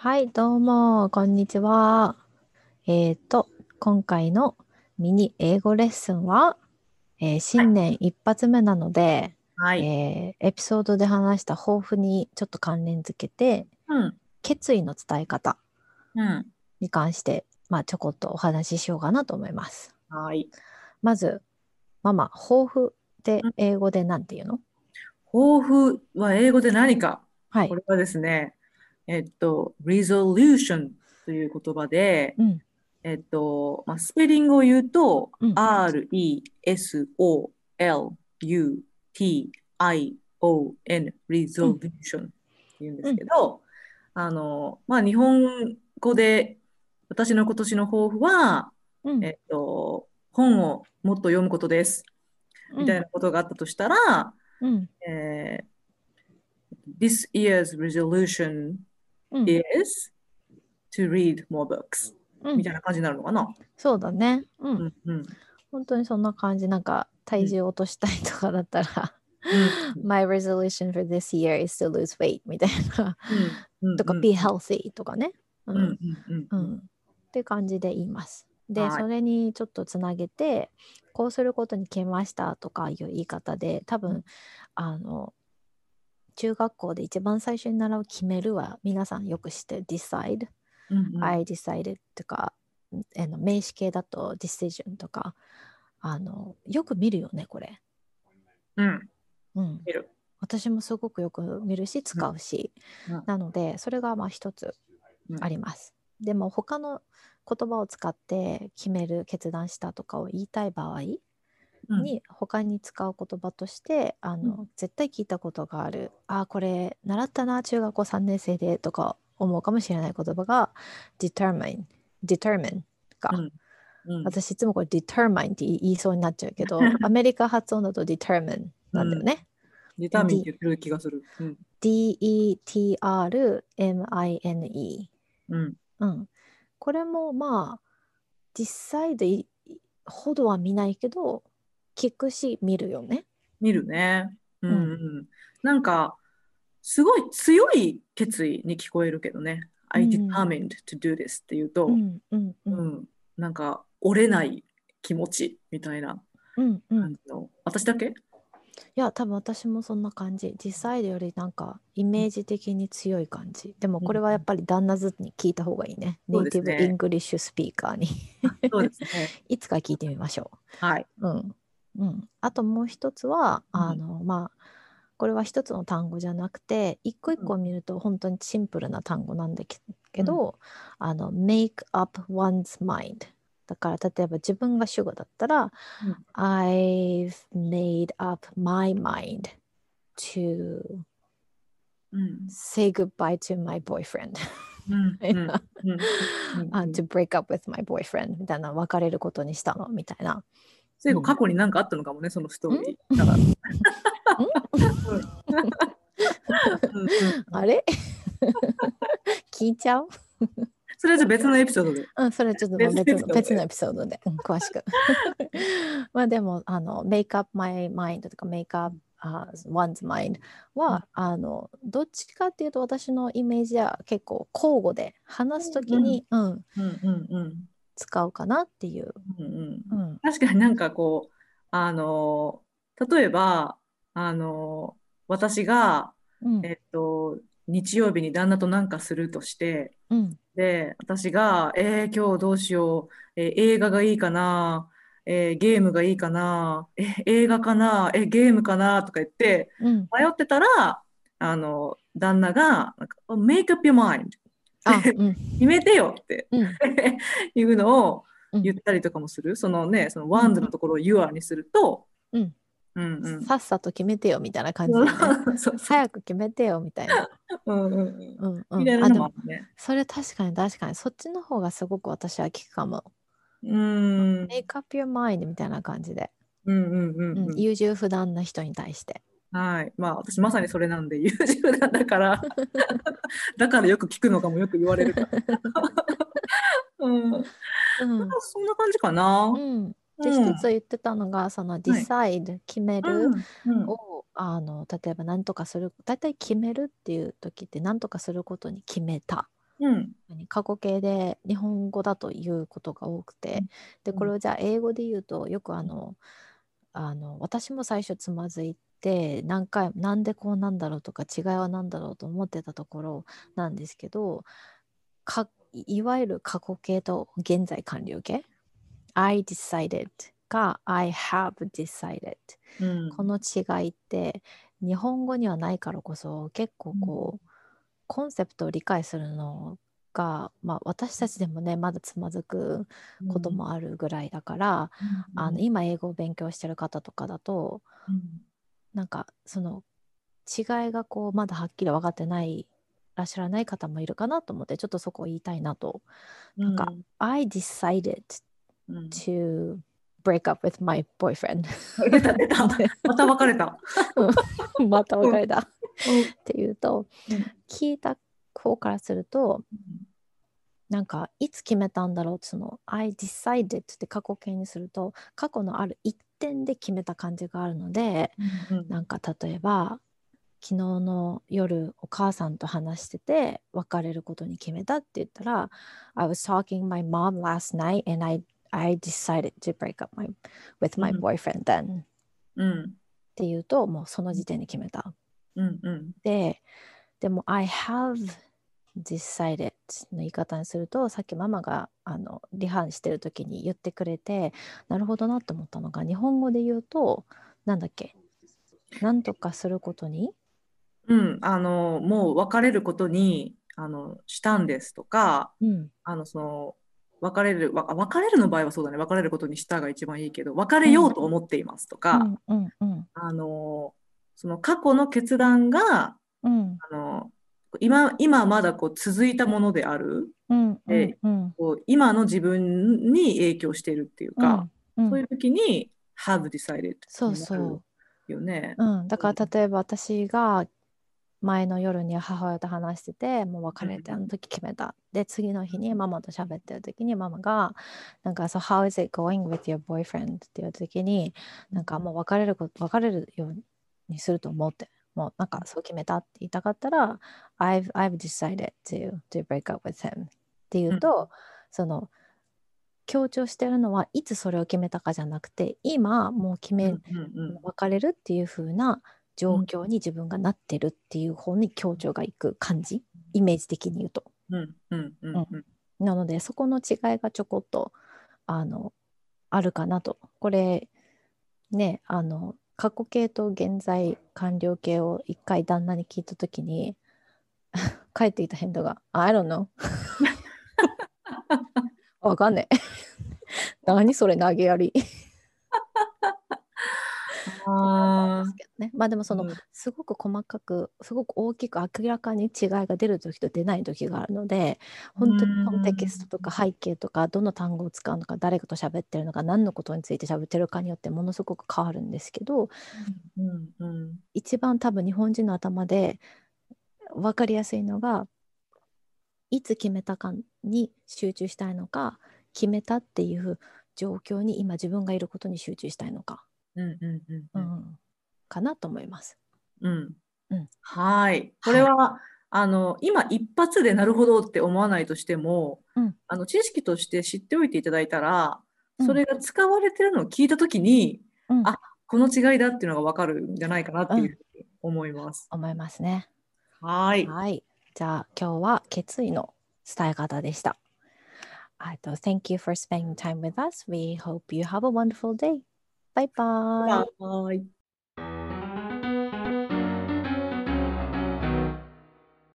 はい、どうも、こんにちは。今回のミニ英語レッスンは、 はい。 新年一発目なので、 はい。 エピソードで話した抱負にちょっと関連づけて、 うん。 決意の伝え方うん。 に関して、ちょこっとお話ししようかなと思います。 はい。 まず、ママ、抱負ってうん。 英語でなんて言うの？ 抱負は英語で何か。 はい。 これはですね、resolution という言葉で、 うん、 スペリングを言うと、 うん、 resolution、 うん、 resolution って言うんですうん、 けど、日本語で私の今年の抱負は、 うん、 本をもっと読むことです。 うん、 みたいなことがあったとしたら、 うん、 えー This year's resolution うん、 is to read more books うん。 みたいな感じになるのかな。 そうだね。うん。 うんうん本当にそんな感じ、なんか体うん重落としたいとかだったらうん My resolution for this year is to lose weight みたいなうんうんとかうん be healthy とかね。ううんうん。 んうんうん。 うん。って感じで言います。で、 はい。 それにちょっとつなげて、こうすることに決めましたとかいう言い方で、多分、あの、中学校で一番最初に習う決めるは皆さんよく知ってる decide、 うんうん I decided とか、名詞形だと decision とか、よく見るよね、これ。 うん。 うん。 見る。 私もすごくよく見るし、 うん使うし。 うんなので、それが一つうんあります。でも、他の言葉を使って決める、決断したとかを言いたい場合うんに、他に使う言葉として、 うん絶対聞いたことがある。あ、これ、習ったな、中学校3年生でとか思うかもしれない言葉が、determine か。 うんうん私いつもこれ determine って言いそうになっちゃうけど、アメリカ発音だと determine うん。 なんだよね。 デタミンって D、 言ってる気がする。うん determine。 うん。 うん。これも実際でほどは見ないけど、聞くし見るよね。 見るね。ううん。 んうん。なんか、すごい強い決意に聞こえるけどね。 う I ん。 determined to do this っていうと、 うん。うん。うん。 うん、なんか折れない気持ちみたいなうん。うん。 感じの。私だけ。 いや、多分私もそんな感じ。実際よりなんかイメージ的に強い感じ。でもうん、 これはやっぱり旦那ずに聞いた方がいいね。 そうネイティブイですね。 ングリッシュスピーカーにそうですね。 いつか聞いてみましょはい。 う。うん。うん。あともう一つは、 うん、 これは一つの単語じゃなくて、一個一うん、 個見ると本当にシンプルな単語なんだけうん、 ど、make up one's mind。だから例えば自分が主語だったら、 うん、 I've made up my mind to うん、 say goodbye to my boyfriend うん、うん、うん、うん。 to break up with my boyfriend みたいな、別れることにしたのみたいな。 最後、 うん。 過去に何かあったのかもね、そのストーんリー。だから。うん、うん、うん。 あれ聞いちゃう？ それはじゃあ別のエピソードで。 うん、それちょっと別のエピソードで。 別のエピソードで、詳しく。でも、make up my mind とか make up one's mind うん、 は、どっちかっていうと私のイメージは結構交互で話すときうん、 に、うん、 うん、うん、うん。 使うかなっていう。 うんうんうん、 確かになんかこう、あの、例えば、あの、私が、 うん、 えっと、日曜日に旦那となんかするとして、 うん、 で、私が、今日どうしよう、映画がいいかな、ゲームがいいかな、映画かな、ゲームかなとか言って、 うん。 迷ってたら、旦那が、なんか、make up your mind あ、うん、 決めてよってうん、 いうのをうん、 言ったりとかもする。そのね、そのうん、 ワンズのところを your にすると、 うん。 うんうん。 さっさと決めてよみたいな感じだよね。 そうそう。 早く決めてよみたいな。 うんうんうん。 うんうん。あ、 みたいなのでも、 もあるね。 それ確かに確かに、そっちの方がすごく私は聞くかも。 うん。うん make up your mind みたいな感じで。 うんうんうん、 うん。 優柔不断な人に対して。 はい。まあ私まさにそれなんで優柔不断だから、だからよく聞くのかもよく言われるから。うん。なんかうん。 そんな感じかな。 うん。で、 うん。 一つ言ってたのが、そのはい。 decide、決めるうん。うん。 を、例えば何とかする、大体決めるっていう時って何とかすることに決めた。 うん。 過去形で日本語だと言うことが多くて、でこれをじゃあ英語で言うとよく私も最初つまずいて何回なんでこうなんだろうとか違いは何だろうと思ってたところなんですけど、いわゆる過去形と現在完了形 I decided か I have decided、 うん。 この違いって日本語にはないからこそ結構コンセプトを理解するのが、私たちでもねまだつまずくことうん。 もあるぐらいだから、 うん。 今英語を勉強してる方とかだとうん。 なんかその違いがまだはっきり分かってないら知らない方もいるかなと思って、ちょっとそこを言いたいなと。なんかうん。 I decided うん。 to break up with my boyfriend 出た、出た。 でまた別れた。 またうん。 別れたっうん。 ていうと、 うん。 聞いた方からするとなんかいつ決めたんだろうって、その I decided って過去形にすると過去のある一点で決めた感じがあるので、 うん。 なんか例えば昨日の夜お母さんと話してて別れることに決めたって言ったら I was talking to my mom last night and I decided to break up with う my ん。 boyfriend then っうん。 ていうともうその時点で決めた。 うん。うん。 でも I have decided の言い方にすると、さっきママがリハしてる時に言ってくれてなるほどなと思ったのが、日本語で言うとなんだっけ、なんとかすることに、 うん。もう別れることに、したんですとか、 うん、 その、別れるの場合はそうだね。別れることにしたが一番いいけど、別れようん、 うと思っていますとか、 うんうんうんあの、その過去の決断が、 うんあの、今まだ続いたものである。 うんうんで、 うん今の自分に影響しているっていうか、 うんうん、 そういう時に have decided そうになるそよね。 う、うん、だから例えば私が前の夜に母親と話してて、もう別れてあの時決めた。で、次の日にママと喋ってる時にママが、なんか、So how is it going with your boyfriend? っていう時に、なんかもう別れるようにすると思って、もうなんかそう決めたって言いたかったら、I've decided to break up with him っていううん。 と、その強調してるのはいつそれを決めたかじゃなくて、今もううんうん別れるっていう風な状うん況に自分がなってるっていう方に強調がいく感じ、イメージ的に言うと。 うんうんううん、 んうんなのでそこの違いがちょこっとあのあるかなと。これね、過去形と現在完了形を一回旦那に聞いた時に返っていた返答が「I don't know」わかんねえ何それ投げやりってなったんでああ、 すけどね。まあでもうん。 すごく細かくすごく大きく明らかに違いが出る時と出ない時があるので、 う本当にコンテキストん。 とか背景とかどの単語を使うのか誰と喋ってるのか何のことについて喋ってるかによってものすごく変わるんですけど、 うんうん。 一番多分日本人の頭で分かりやすいのが、いつ決めたかに集中したいのか、決めたっていう状況に今自分がいることに集中したいのか、 うんうんうんうん。 うん、かなと思います。 うん。 うん、 はい。こはい。 れは、今一発でなるほどって思わないとしても、 うん、 知識として知っておいていただいたら、 うん、 それが使われてるのを聞いたときに、 うん、 あ、この違いだっていうのがわかるんじゃないかなっていううん、 ふうに思います。 思いますね。 はい。 はい。じゃあ今日は決意の伝え方でした。Thank you for spending time with us. We hope you have a wonderful day. Bye バ bye. イバイ。